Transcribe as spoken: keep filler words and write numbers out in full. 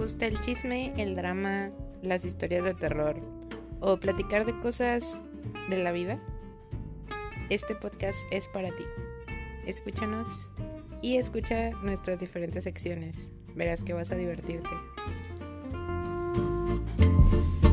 gusta el chisme, el drama, las historias de terror o platicar de cosas de la vida, este podcast es para ti. Escúchanos y escucha nuestras diferentes secciones. Verás que vas a divertirte.